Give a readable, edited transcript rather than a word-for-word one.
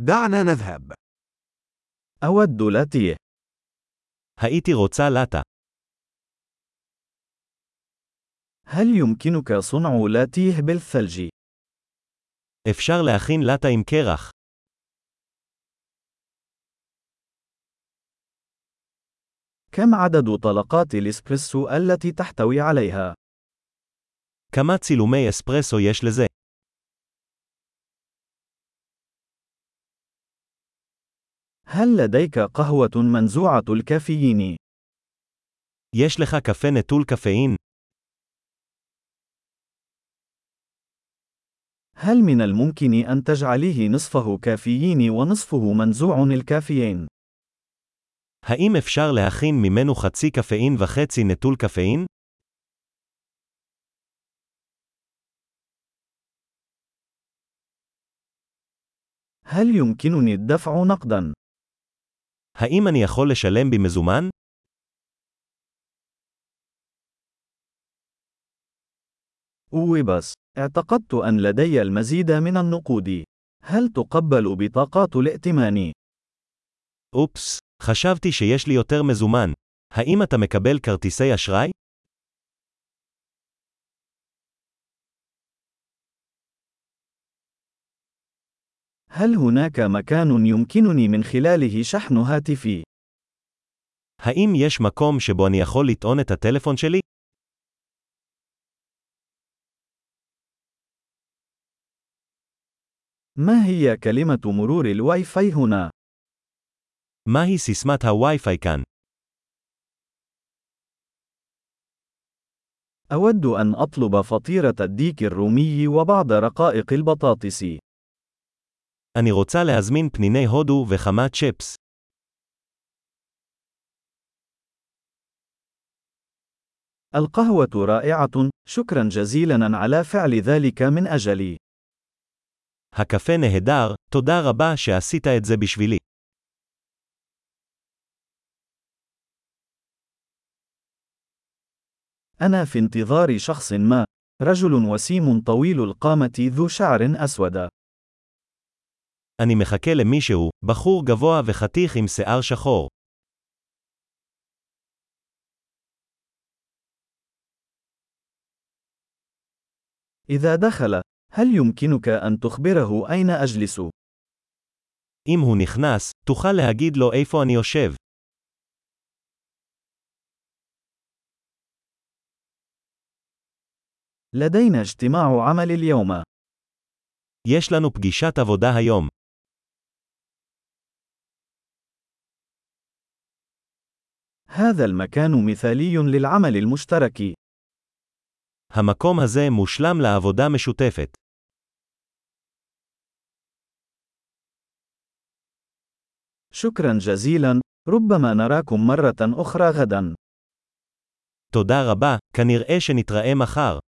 دعنا نذهب. أود لاتيه. הייתי רוצה לאטה. هل يمكنك صنع لاتيه بالثلج؟ אפשר להכין לאטה עם קרח. كم عدد طلقات الإسبريسو التي تحتوي عليها؟ כמה צילומי אספרסו יש לזה? هل لديك قهوة منزوعة الكافيين؟ יש לך קפה נטול קפאין? هل من الممكن أن تجعليه نصفه كافيين ونصفه منزوع الكافيين؟ האם אפשר להכין ממנו חצי קפאין וחצי נטול קפאין? هل يمكنني الدفع نقداً؟ האם אני יכול לשלם במזומן? بس اعتقدت أن لدي المزيد من النقود. هل تقبل بطاقات الائتمان؟ אופס, חשבתי שיש לי יותר מזומן. האם אתה מקבל כרטיסי אשראי? هل هناك مكان يمكنني من خلاله شحن هاتفي؟ האם יש מקום שבו אני יכול לטעון את הטלפון שלי? ما هي كلمة مرور الواي فاي هنا؟ מהי סיסמת הווי-פיי כאן? أود أن أطلب فطيرة الديك الرومي وبعض رقائق البطاطس. אני רוצה להזמין פניני הודו וכמה צ'פס. القهوة رائعة، شكرا جزيلا على فعل ذلك من أجلي. הקפה נהדר, תודה רבה שעשית את זה בשבילי. أنا في انتظار شخص ما، رجل وسيم طويل القامة ذو شعر أسود. אני מחכה למישהו, בחור גבוה וחתיך עם שיער שחור. إذا دخل، هل يمكنك أن تخبره أين أجلس؟ אם הוא נכנס, תוכל להגיד לו איפה אני יושב. لدينا اجتماع عمل اليوم. יש לנו פגישת עבודה היום. هذا المكان مثالي للعمل المشترك. המקום הזה מושלם לעבודה משותפת. شكرا جزيلا، ربما نراكم مرة أخرى غدا. תודה רבה, כנראה שנתראה מחר.